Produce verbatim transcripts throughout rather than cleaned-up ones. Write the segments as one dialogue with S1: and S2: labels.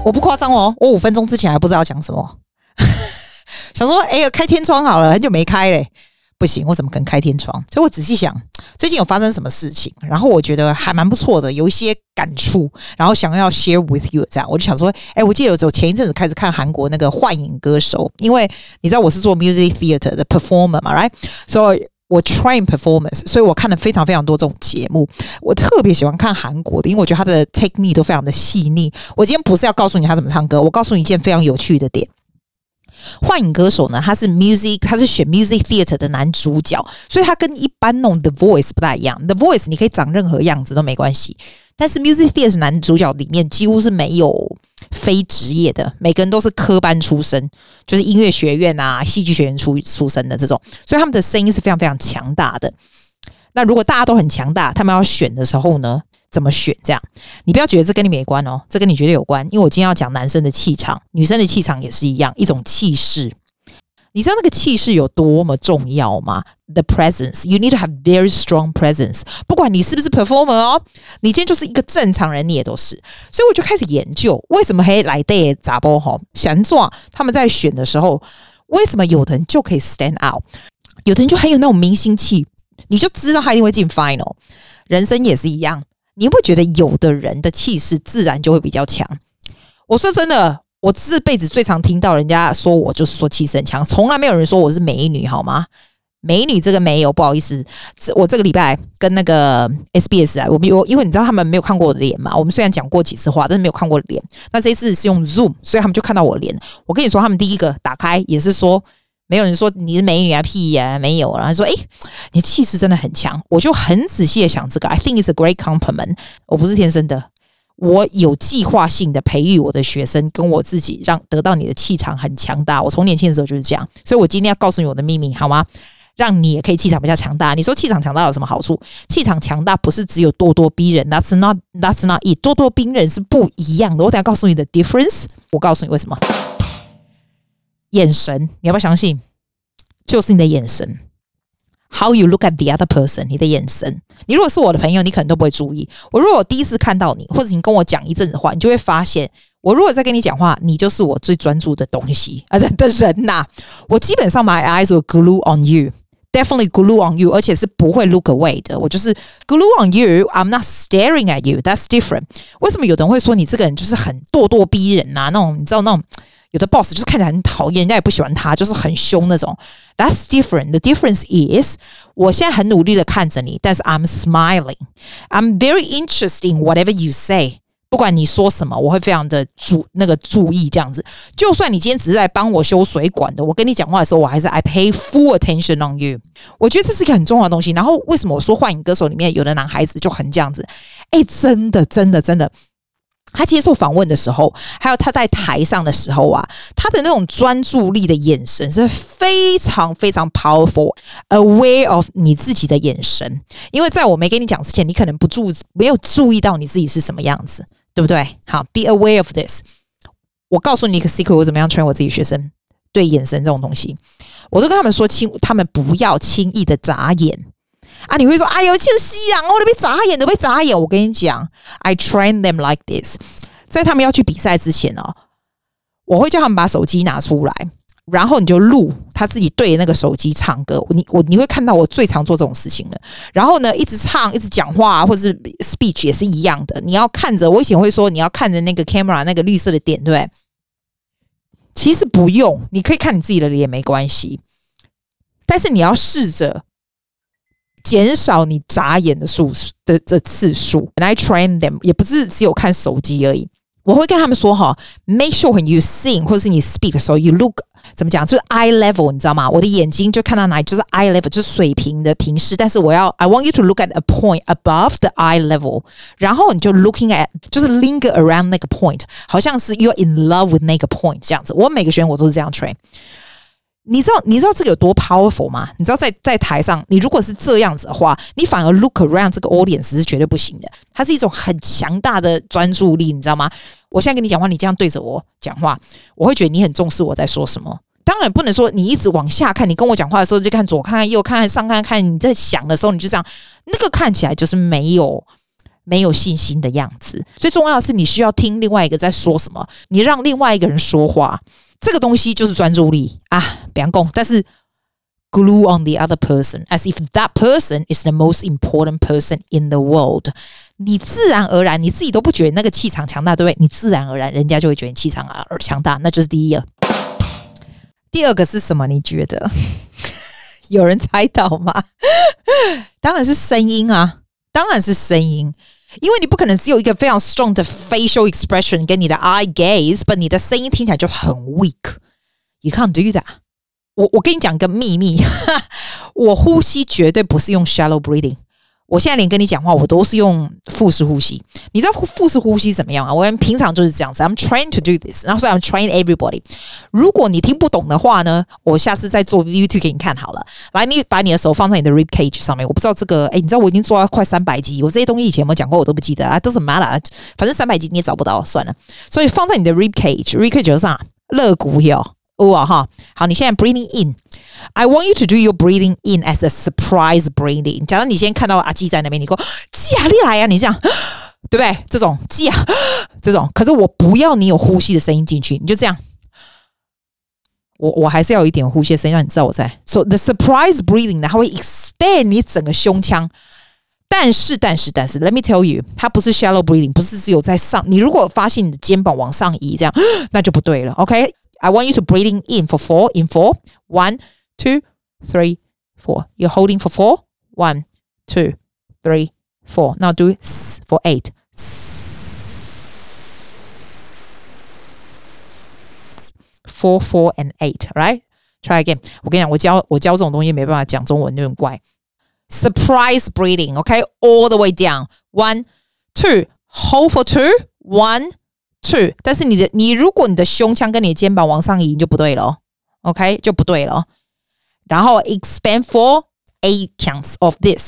S1: 我不誇張哦，我五分鐘之前還不知道要講什麼，想說哎呀開天窗好了，很久沒開嘞。不行，我怎麼可能開天窗？所以我仔細想，最近有發生什麼事情，然後我覺得還蠻不錯的，有一些感觸，然後想要 share with you。這樣，我就想說，哎，我記得我前一陣子開始看韓國那個《幻影歌手》，因為你知道我是做 music theater 的 performer 嘛 ，right？ 所以我 train performance， 所以我看了非常非常多這種節目。我特別喜歡看韓國的，因為我覺得他的 technique 都非常的細膩。我今天不是要告訴你他怎麼唱歌，我告訴你一件非常有趣的點。幻影歌手呢，他是 music， 他是選 music theater 的男主角，所以他跟一般那種 The Voice 不太一樣。The Voice 你可以長任何樣子都沒關係，但是 music theater 男主角裡面幾乎是沒有非職業的，每個人都是科班出身，就是音樂學院啊、戲劇學院出出身的這種，所以他們的聲音是非常非常強大的。那如果大家都很強大，他們要選的時候呢？怎麼選？這樣，你不要覺得這跟你沒關哦，這跟你絕對有關。因為我今天要講男生的氣場，女生的氣場也是一樣，一種氣勢。你知道那個氣勢有多麼重要嗎 ？The presence, you need to have very strong presence。不管你是不是 performer 哦，你今天就是一個正常人，你也都是。所以我就開始研究，為什麼黑來的雜波哈想做他們在選的時候，為什麼有的人就可以 stand out， 有的人就很有那種明星氣，你就知道他一定會進 final。人生也是一樣。你會覺得有的人的氣勢自然就會比較強。我說真的，我這輩子最常聽到人家說我就是說氣勢很強，從來沒有人說我是美女，好嗎？美女這個沒有，不好意思，我這個禮拜跟那個 S B S 啊，我們有，因為你知道他們沒有看過我的臉嘛，我們雖然講過幾次話，但是沒有看過臉。那這一次是用 Zoom， 所以他們就看到我的臉。我跟你說，他們第一個打開也是說。沒有人說你是美女啊屁呀、啊，沒有。然後說，哎，你氣勢真的很強。我就很仔細的想這個 ，I think it's a great compliment。我不是天生的，我有計劃性的培育我的學生跟我自己，讓得到你的氣場很強大。我從年輕的時候就是這樣，所以我今天要告訴你我的秘密，好嗎？讓你也可以氣場比較強大。你說氣場強大有什麼好處？氣場強大不是只有咄咄逼人 ，That's not That's not it。咄咄逼人是不一樣的。我等一下告訴你的 difference。我告訴你為什麼。眼神，你要不要相信？就是你的眼神 ，How you look at the other person， 你的眼神。你如果是我的朋友，你可能都不會注意。我如果我第一次看到你，或者你跟我講一陣子話，你就會發現，我如果在跟你講話，你就是我最專注的東西啊的的人吶、啊。我基本上 my eyes will glue on you。Definitely glue on you， 而且是不會 look away 的。我就是 glue on you， I'm not staring at you. That's different。為什麼有的人會說你這個人就是很咄咄逼人啊？那種你知道那種有的 boss 就是看起來很討厭，人家也不喜歡他，就是很兇那種。That's different. The difference is， 我現在很努力的看着你，但是 I'm smiling. I'm very interested in whatever you say。不管你說什麼，我會非常的注那個注意這樣子。就算你今天只是來幫我修水管的，我跟你講話的時候，我還是 I pay full attention on you。我覺得這是一個很重要的東西。然後為什麼我說《幻影歌手》裡面有的男孩子就很這樣子？哎，真的，真的，真的。他接受訪問的時候，還有他在台上的時候啊，他的那種專注力的眼神是非常非常 powerful。Aware of 你自己的眼神，因為在我沒跟你講之前，你可能不注沒有注意到你自己是什麼樣子。對不對？好 ，be aware of this。我告訴你一個 secret， 我怎麼樣 train 我自己學生對眼神這種東西，我都跟他們說，輕他們不要輕易的眨眼啊！你會說，哎呦，就是西洋，我都被眨眼，都被眨眼。我跟你講 ，I train them like this。在他們要去比賽之前哦，我會叫他們把手機拿出來。然後你就錄他自己對着那個手機唱歌，你我你會看到我最常做這種事情了。然後呢，一直唱，一直講話，或者是 speech 也是一樣的。你要看着，我以前會說你要看着那個 camera 那個綠色的點，對不對？其實不用，你可以看你自己的臉沒關係。但是你要試着減少你眨眼的數的這次數。And I train them， 也不是只有看手機而已。我會跟他們說哈 ，make sure when you sing 或者是你 speak 的時候 ，you look 怎麼講，就是 eye level， 你知道嗎？我的眼睛就看到哪裡，就是 eye level， 就是水平的平視。但是我要 I want you to look at a point above the eye level， 然後你就 looking at， 就是 linger around 那個 point， 好像是 you're in love with 那個 point 這樣子。我每個學員我都是這樣 train。你知道你知道這個有多 powerful 嗎？你知道在在台上，你如果是這樣子的話，你反而 look around 這個 audience 是絕對不行的。它是一種很強大的專注力，你知道嗎？我現在跟你講話，你這樣對着我講話，我會覺得你很重視我在說什麼。當然不能說你一直往下看，你跟我講話的時候就看左看看右看看上看看，你在想的時候你就這樣，那個看起來就是沒有沒有信心的樣子。最重要的是，你需要聽另外一個在說什麼，你讓另外一個人說話，這個東西就是專注力啊，不要講，但是 glue on the other person as if that person is the most important person in the world。你自然而然，你自己都不覺得那個氣場強大，對不對？你自然而然，人家就會覺得你氣場而強大，那就是第一個。第二個是什麼？你覺得有人猜到嗎？當然是聲音啊，當然是聲音，因為你不可能只有一個非常 strong 的 facial expression 跟你的 eye gaze，but 你的聲音聽起來就很 weak。You can't do that。我我跟你講個秘密，我呼吸絕對不是用 shallow breathing。我現在連跟你講話，我都是用腹式呼吸。你知道腹式呼吸怎麼樣啊？我們平常就是這樣子。I'm trying to do this， 然後所以 I'm trying everybody。如果你聽不懂的話呢，我下次再做 YouTube 給你看好了。來，你把你的手放在你的 rib cage 上面。我不知道這個，哎，你知道我已經做到快三百集，我這些東西以前有沒有講過，我都不記得啊。doesn't matter，反正三百集你也找不到，算了。所以放在你的 rib cage，rib cage 上肋骨有。哇哈，好，你現在 breathing in。I want you to do your breathing in as a surprise breathing。假如你先看到阿基在那邊，你說基啊，你來啊，你這樣，對不對？這種基啊，這種，可是我不要你有呼吸的聲音進去，你就這樣。我我還是要有一點呼吸的聲音，讓你知道我在。So the surprise breathing 呢，它會 expand 你整個胸腔。但是，但是，但是 ，Let me tell you， 它不是 shallow breathing， 不是只有在上。你如果發現你的肩膀往上移，這樣那就不對了。OK。I want you to breathing in for four, in four. One, two, three, four. You're holding for four. One, two, three, four. Now do S for eight. Four, four, and eight. Right? Try again. 我跟你講，我教我教這種東西沒辦法講中文，有點怪。Surprise breathing. Okay, all the way down. One, two. Hold for two. One.Two， 但是你的你如果你的胸腔跟你的肩膀往上移就不对了 ，OK 就不对了。然後 expand for eight counts of this。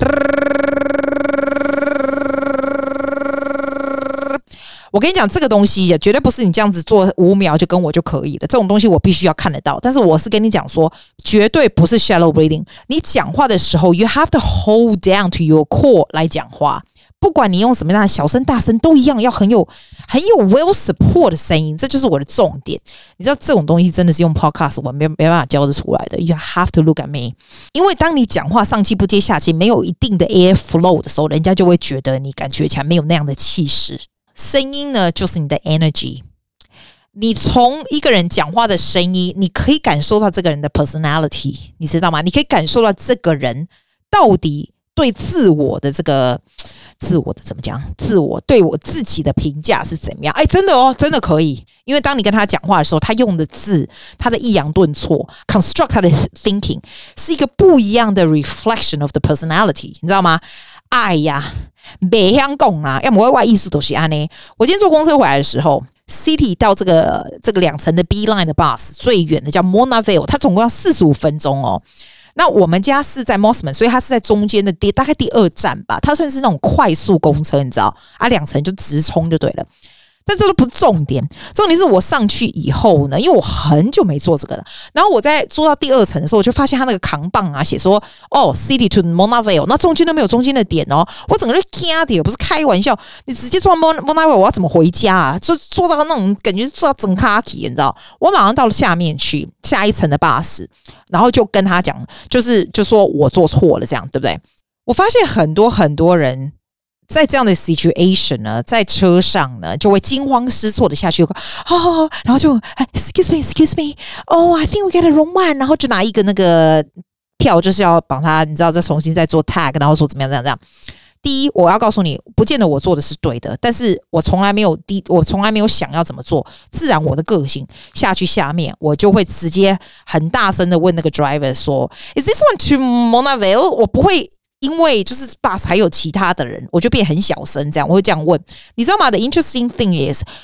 S1: 我跟你講，這個東西也絕對不是你這樣子做五秒就跟我就可以了。這種東西我必須要看得到。但是我是跟你講說，絕對不是 shallow breathing。你講話的時候 ，you have to hold down to your core 來講話。不管你用什麼樣的小聲大聲都一樣，要很有很有 well support 的聲音，這就是我的重點。你知道這種東西真的是用 podcast 我沒沒辦法教得出來的。You have to look at me， 因為當你講話上氣不接下氣，沒有一定的 air flow 的時候，人家就會覺得你感覺起來沒有那樣的氣勢。聲音呢，就是你的 energy。你從一個人講話的聲音，你可以感受到這個人的 personality， 你知道嗎？你可以感受到這個人到底對自我的這個。自我的怎麼講？自我對我自己的評價是怎麼樣？哎，真的哦，真的可以。因為當你跟他講話的時候，他用的字，他的抑揚頓挫 ，construct 他的 thinking 是一個不一樣的 reflection of the personality， 你知道嗎？哎呀，北香港啊，要麼外藝術都是安呢。我今天坐公車回來的時候 ，City 到這個這個兩層的 B line 的 bus 最遠的叫 Mona Vale， 它總共要四十五分鐘哦。那我們家是在 Mosman， 所以它是在中間的第大概第二站吧，它算是那種快速公車，你知道啊，兩層就直衝就對了。但這都不是重點，重點是我上去以後呢，因為我很久沒坐這個了，然後我在坐到第二層的時候，我就發現他那個扛棒啊，寫說哦 ，City to Mona Vale， 那中間都沒有中間的點哦，我整個就嚇掉，不是開玩笑，你直接坐到 Mona Vale， 我要怎麼回家啊？就坐到那種感覺坐到整卡體，你知道？我馬上到了下面去，下一層的巴士，然後就跟他講，就是就說我做錯了，這樣對不對？我發現很多很多人。在這樣的 situation 呢，在車上呢，就會驚慌失措的下去，哦，然後就 excuse me excuse me oh I think we get a wrong one， 然後就拿一個那個票，就是要幫他，你知道，再重新再做 tag， 然後說怎麼樣怎麼樣怎麼樣。第一，我要告訴你，不見得我做的是對的，但是我從來沒有第，我從來沒有想要怎麼做，自然我的個性下去下面，我就會直接很大聲的問那個 driver 說 ，Is this one to Mona Vale？ 我不會。因為就是 bus 還有其他的人，我就變很小聲這樣，我會這樣問，你知道嗎？The interesting thing is，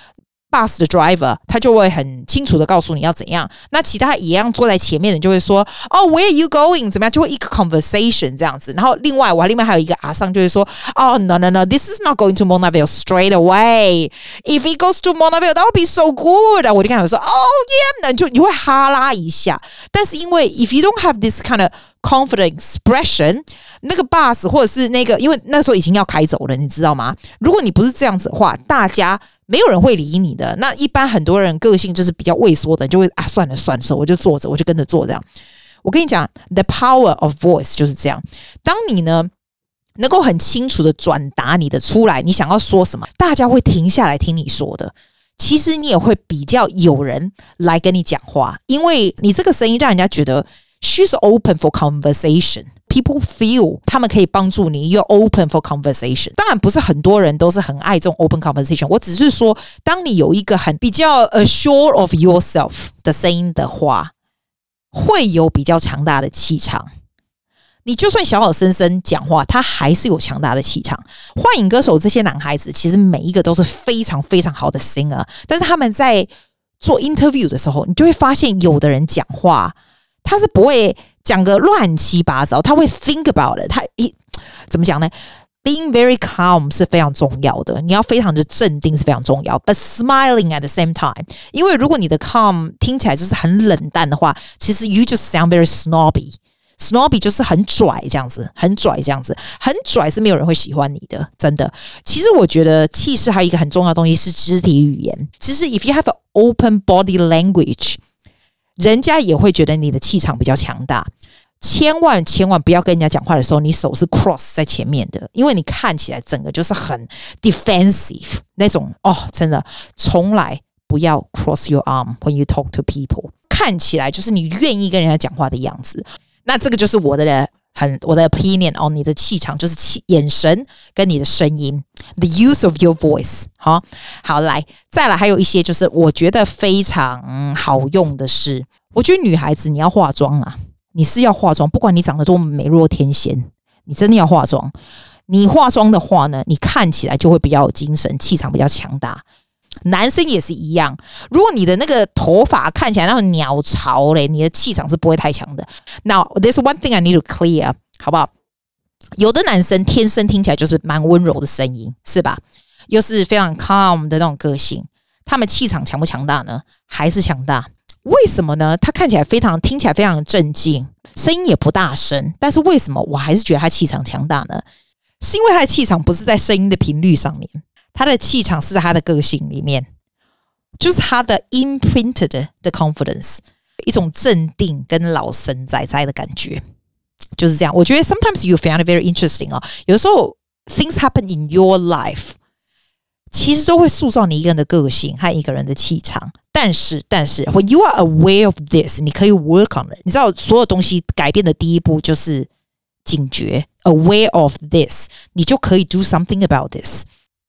S1: bus 的 driver 他就會很清楚的告訴你要怎樣，那其他一樣坐在前面的就會說哦 where are you going 怎麼樣，就會一個 conversation 這樣子。然後另外我另外還有一個阿桑就會說哦 no no no this is not going to Mona Vale straight away if it goes to Mona Vale that would be so good 我就看到說哦 yeah 那就你會哈拉一下，但是因為 if you don't have this kind of confident expression 那個 bus 或者是那個因為那時候已經要開走了你知道嗎，如果你不是這樣子的話大家沒有人會理你的。那一般很多人個性就是比較畏縮的，就會啊算了算了，我就坐着，我就跟着做這樣。我跟你講 ，the power of voice 就是這樣。當你呢能夠很清楚的轉達你的出來，你想要說什麼，大家會停下來聽你說的。其實你也會比較有人來跟你講話，因為你這個聲音讓人家覺得 she's open for conversation。People feel 他們可以幫助你 you're open for conversation。 當然不是很多人都是很愛這種 open conversation， 我只是說當你有一個很比較 assured of yourself 的聲音的話，會有比較強大的氣場。你就算小小聲聲講話，他還是有強大的氣场。幻影歌手這些男孩子其實每一個都是非常非常好的 singer， 但是他們在做 interview 的時候，你就會發現有的人講話他是不會講個亂七八糟，他會 think about it。他一怎麼講呢？ Being very calm 是非常重要的，你要非常的鎮定是非常重要。But smiling at the same time， 因為如果你的 calm 聽起來就是很冷淡的話，其實 you just sound very snobby。snobby 就是很拽這樣子，很拽這樣子，很拽是沒有人會喜歡你的，真的。其實我覺得氣勢還有一個很重要的東西是肢體語言。其實 if you have an open body language， 人家也會覺得你的氣場比較強大。千萬千萬不要跟人家講話的時候，你手是 cross 在前面的，因為你看起來整個就是很 defensive 那種哦，真的，從來不要 cross your arm when you talk to people， 看起來就是你願意跟人家講話的樣子。那這個就是我的很我的 opinion on 你的氣場，就是氣眼神跟你的聲音 ，the use of your voice。好，好來，再來還有一些就是我覺得非常好用的是，我覺得女孩子你要化妝啊。你是要化妝，不管你長得多麼美若天仙，你真的要化妝。你化妝的話呢，你看起來就會比較有精神，氣場比較強大。男生也是一樣，如果你的那個頭髮看起來那種鳥巢嘞，你的氣場是不會太強的。Now, there's one thing I need to clear， 好不好？有的男生天生聽起來就是蠻溫柔的聲音，是吧？又是非常 calm 的那種個性，他們氣場強不強大呢？還是強大。為什麼呢？他看起來非常，聽起來非常鎮靜，聲音也不大聲，但是為什麼我還是覺得他氣場強大呢？是因為他的氣場不是在聲音的頻率上面，他的氣場是在他的個性裡面，就是他的 imprinted 的 confidence， 一種鎮定跟老神在在的感覺，就是這樣。我覺得 sometimes you find it very interesting 哦，有時候 things happen in your life， 其實都會塑造你一個人的個性和一個人的氣場。但是，但是 when you are aware of this， 你可以 work on it。你知道，所有東西改變的第一步就是警覺 ，aware of this， 你就可以 do something about this。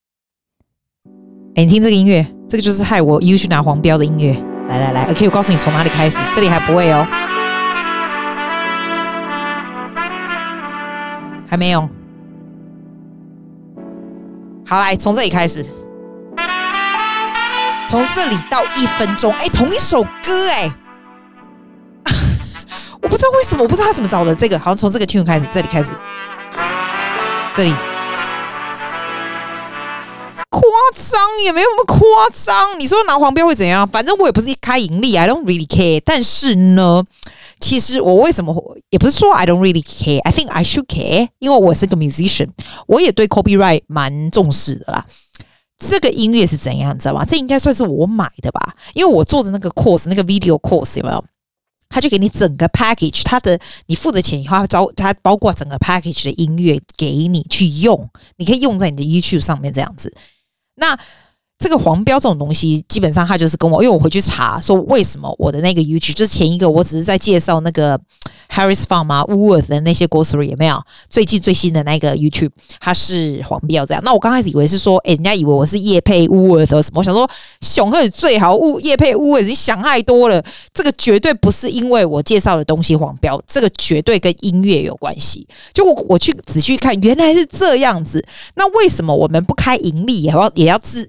S1: 哎，你聽這個音樂，這個就是害我又去拿黃標的音樂。來來來 ，OK， 我告訴你從哪裡開始，這裡還不會哦，還沒有。好，來從這裡開始。從這裡到一分鐘，哎，同一首歌，哎，我不知道為什麼，我不知道他怎麼找的。這個好像從這個 tune 開始，這裡開始，這裡誇張也沒有那麼誇張。你說拿黃標會怎樣？反正我也不是一開盈利 ，I don't really care。但是呢，其實我為什麼也不是說 I don't really care，I think I should care，因為我是個 musician， 我也對 copyright 蠻重視的啦。這個音樂是怎樣，你知道嗎？這應該算是我買的吧，因為我做的那個 course， 那個 video course 有沒有？他就給你整個 package， 他的你付的錢以後，他包括整個 package 的音樂給你去用，你可以用在你的 YouTube 上面這樣子。那這個黃標這種東西，基本上他就是跟我，因為我回去查說為什麼我的那個 YouTube， 就是前一個我只是在介紹那個 Harris Farm 啊 Woolworth 的那些 grocery 有沒有？最近最新的那個 YouTube 它是黃標這樣。那我剛開始以為是說，哎，人家以為我是業配 Woolworth 什麼，我想說熊赫最好物業配 Woolworth，你想太多了，這個絕對不是因為我介紹的東西黃標，這個絕對跟音樂有關係。就我我去仔細看，原來是這樣子。那為什麼我們不開盈利，也要也要自也要重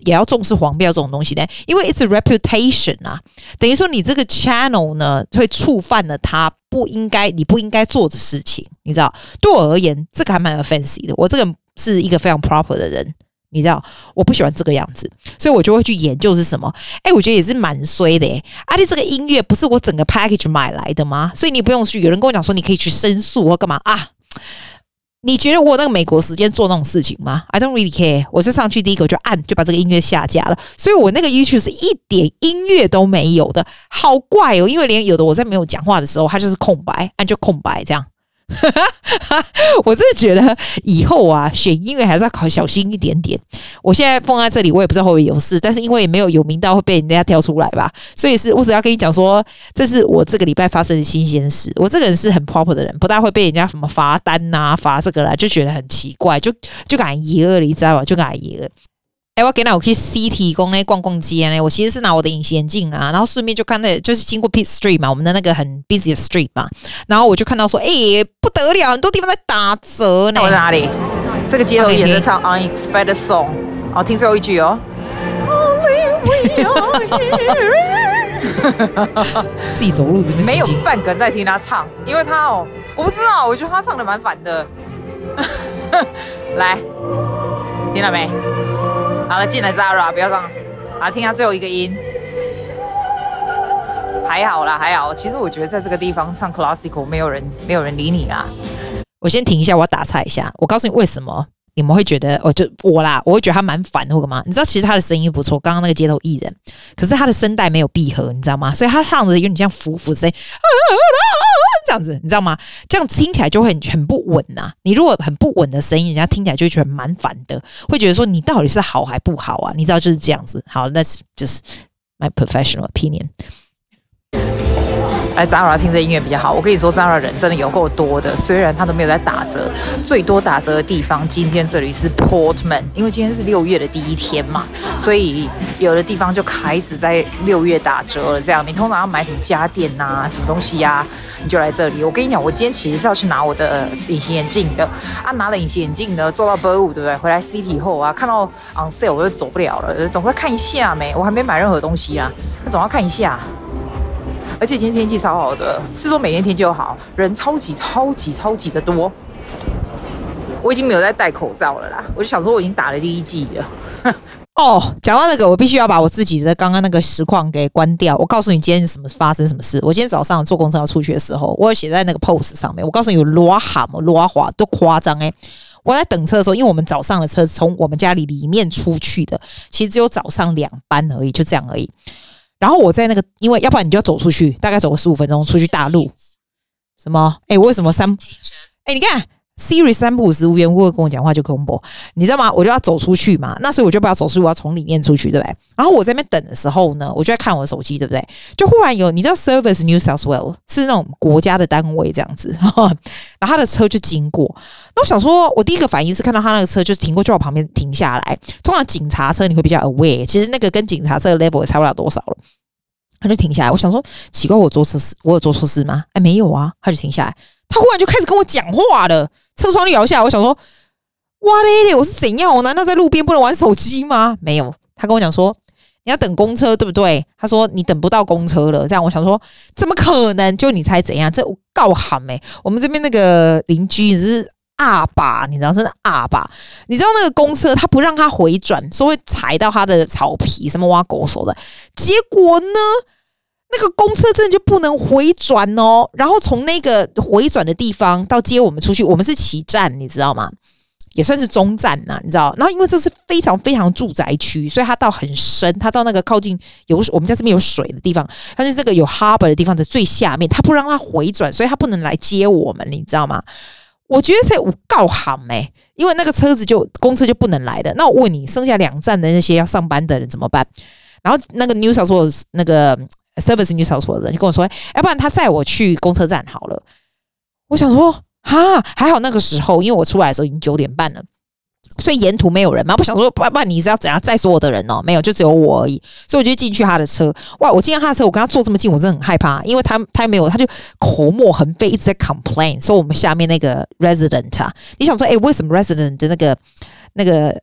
S1: 重視黃標這種東西呢？因為 it's a reputation 啊，等於說你這個 channel 呢會觸犯了他不應該你不應該做的事情，你知道？對我而言，這個還蠻 offensive 的。我這個是一個非常 proper 的人。你知道我不喜歡這個樣子，所以我就會去研究是什麼。哎、欸，我覺得也是蠻衰的耶。啊，你這個音樂不是我整個 package 買來的嗎？所以你不用去。有人跟我講說你可以去申訴或幹嘛啊？你覺得我有那個美國時間做那種事情嗎 ？I don't really care。我就上去第一個我就按就把這個音樂下架了。所以我那個 YouTube 是一點音樂都沒有的，好怪哦。因為連有的我在沒有講話的時候，它就是空白，按就空白這樣。我真的覺得以後啊，選音樂還是要考小心一點點。我現在放在這裡，我也不知道會不會有事，但是因為也沒有有名到會被人家挑出來吧，所以是我只要跟你講說，這是我這個禮拜發生的新鮮事。我這個人是很 proper 的人，不大會被人家什麼罰單啊、罰這個啦，就覺得很奇怪，就就敢爺了，你知道吧？就敢爺了。哎、欸，我給那我去 City 公呢逛逛街呢。我其實是拿我的隱形眼鏡啊，然後順便就看那，就是經過 Pitt Street 嘛，我們的那個很 busy 的 street 嘛，然後我就看到說，哎、欸，不得了，很多地方在打折呢。我在哪裡？這個街頭也在唱 Unexpected Song。好，聽最後一句哦。自己走路這邊沒有半個人在聽他唱，因為他哦，我不知道，我覺得他唱的蠻煩的。來，聽到沒？好了，進來 Zara， 不要這樣。好，聽下最後一個音，還好啦，還好。其實我覺得在這個地方唱 classical， 沒有人，沒有人理你啦。我先停一下，我要打岔一下。我告訴你為什麼你們會覺得，哦，就我啦，我會覺得他蠻煩的，或幹嘛？你知道，其實他的聲音不錯，剛剛那個街頭藝人，可是他的聲帶沒有閉合，你知道嗎？所以他唱的有點像浮浮的聲音。這樣子你知道嗎？這樣聽起來就會很很不穩吶、啊。你如果很不穩的聲音，人家聽起來就會覺得蠻煩的，會覺得說你到底是好還不好啊？你知道就是這樣子。好 ，That's just my professional opinion。來 Zara 聽這音樂比較好。我跟你說 Zara 人真的有夠多的，雖然他都沒有在打折，最多打折的地方今天這裡是 Portman， 因為今天是六月的第一天嘛，所以有的地方就開始在六月打折了。這樣你通常要買什麼家電啊，什麼東西啊，你就來這裡。我跟你講，我今天其實是要去拿我的隱形眼鏡的啊，拿了隱形眼鏡呢，坐到 Burwood 對不對？回來 City 以後啊，看到 on sale 我就走不了了，總要看一下沒？我還沒買任何東西啊，那總要看一下。而且今天天氣超好的，是說每天天氣都好，人超級超級超級的多。我已經沒有在戴口罩了啦，我就想說我已經打了第一劑了。哦，講到那個，我必須要把我自己的剛剛那個實況給關掉。我告訴你今天什麼發生什麼事。我今天早上坐公車要出去的時候，我有寫在那個 post 上面。我告訴你有多喊嘛，多滑都誇張哎！我在等車的時候，因為我們早上的車從我們家裡裡面出去的，其實只有早上兩班而已，就這樣而已。然後我在那個，因為要不然你就要走出去，大概走個十五分鐘出去大路。什麼？哎，我為什麼三？哎，你看 Siri 三不五時無緣無故跟我講話就恐怖，你知道嗎？我就要走出去嘛，那所以我就不要走出去，我要從裡面出去，對不對？然後我在那邊等的時候呢，我就在看我的手機，對不對？就忽然有，你知道 Service New South Wales 是那種國家的單位這樣子，然後他的車就經過，那我想說，我第一個反應是看到他那個車就停過，就往旁邊停下來。通常警察車你會比較 aware， 其實那個跟警察車的 level 也差不了多少了。他就停下來，我想說奇怪，我做錯事，我有做錯事嗎？哎，沒有啊，他就停下來，他忽然就開始跟我講話了，車窗就搖下來，我想說，哇嘞嘞，我是怎樣？我難道在路邊不能玩手機嗎？沒有，他跟我講說你要等公車，對不對？他說你等不到公車了，這樣我想說怎麼可能？就你猜怎樣？這我告喊哎、欸，我們這邊那個鄰居是阿爸，你知道，真的阿爸，你知道那個公車他不讓他回轉，說會踩到他的草皮，什麼挖狗手的，結果呢？那個公車真的就不能回轉哦，然後從那個回轉的地方到接我們出去，我們是起站，你知道嗎？也算是中站吶、啊，你知道？然後因為這是非常非常住宅區，所以它到很深，它到那個靠近有我們在這邊有水的地方，它是這個有 harbor 的地方的最下面，它不讓它回轉，所以它不能來接我們，你知道嗎？我覺得這有夠喊欸，因為那個車子就公車就不能來的。那我問你，剩下兩站的那些要上班的人怎麼辦？然後那個 New South Wales 那個 Service New South Wales 的人就跟我說，要不然他載我去公車站好了。我想說，哈，還好那個時候，因為我出來的時候已經九點半了。所以沿途沒有人嘛，不想說，不然你是要怎樣載所有的人哦？沒有，就只有我而已。所以我就進去他的車，哇！我進到他的車，我跟他坐這麼近，我真的很害怕，因為他他沒有，他就口沫橫飛，一直在 complain，說我們下面那個 resident 啊，你想說，哎，為什麼 resident 的那個那個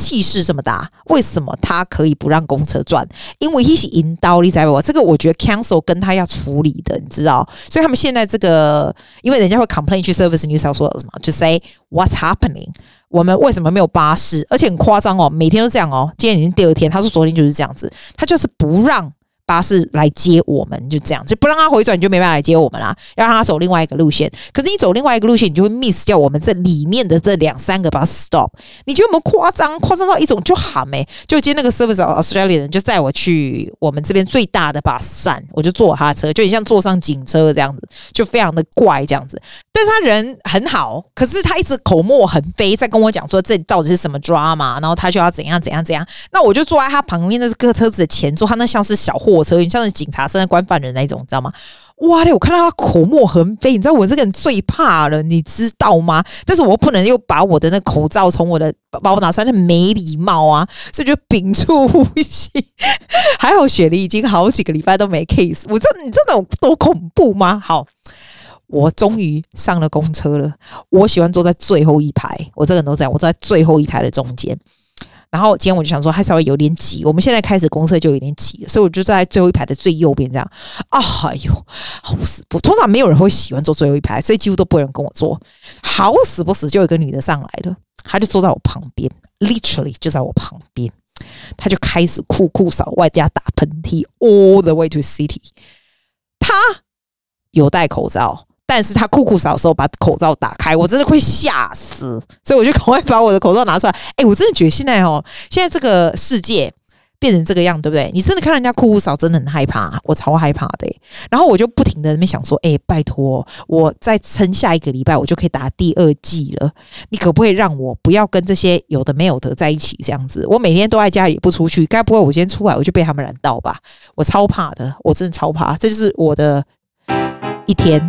S1: 氣勢這麼大，為什麼他可以不讓公車轉？因為他是引導，你知道不？這個我覺得 Council 跟他要處理的，你知道？所以他們現在這個，因為人家會 complain 去 Service New South Wales 嘛，就 say what's happening？ 我們為什麼沒有巴士？而且很誇張哦，每天都這樣哦。今天已經第二天，他說昨天就是這樣子，他就是不讓巴士來接我們，就這樣，就不讓他回轉，你就沒辦法來接我們啦。要讓他走另外一個路線，可是你走另外一個路線，你就會 miss 掉我們這裡面的這兩三個 bus stop。你覺得有沒有誇張？誇張到一種就喊沒、欸？就今天那個 Service Australia 人就載我去我們這邊最大的 bus 站，我就坐他的車，就很像坐上警車這樣子，就非常的怪這樣子。但是他人很好，可是他一直口沫橫飛，在跟我講說這裡到底是什麼 drama， 然後他就要怎樣怎樣怎樣。那我就坐在他旁邊的這個車子的前座，他那像是小貨車，像是警察正在關犯人那一種，你知道嗎？哇嘞！我看到他口沫橫飛，你知道我這個人最怕了，你知道嗎？但是我不能又把我的那口罩從我的包拿出來，那沒禮貌啊，所以就屏住呼吸。還好雪梨已經好幾個禮拜都沒 case， 我真的你真的有多恐怖嗎？好。我終於上了公車了。我喜歡坐在最後一排，我這個人都這樣，我坐在最後一排的中間。然後今天我就想說，還稍微有點擠。我們現在開始公車就有點擠了，所以我就在最後一排的最右邊這樣。啊，哎呦，好死不！通常沒有人會喜歡坐最後一排，所以幾乎都不會有人跟我坐。好死不死，就有一個女的上來了，她就坐在我旁邊 ，literally 就在我旁邊。她就開始酷酷掃，外加打噴嚏 ，all the way to city。她有戴口罩。但是他酷酷掃的時候把口罩打開，我真的會嚇死，所以我就趕快把我的口罩拿出來。哎、欸，我真的覺得現在哦，現在這個世界變成這個樣，對不對？你真的看人家酷酷掃，真的很害怕，我超害怕的、欸。然後我就不停的在那邊想說，哎、欸，拜託，我再撐下一個禮拜，我就可以打第二劑了。你可不可以讓我不要跟這些有的沒有的在一起這樣子？我每天都在家裡不出去，該不會我今天出來我就被他們染到吧？我超怕的，我真的超怕，這就是我的一天。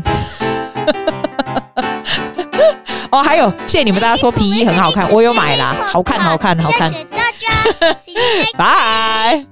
S1: 哦，還有，謝謝你們大家說皮衣很好看，我有買啦，好看，好看，好看。謝謝大家，拜。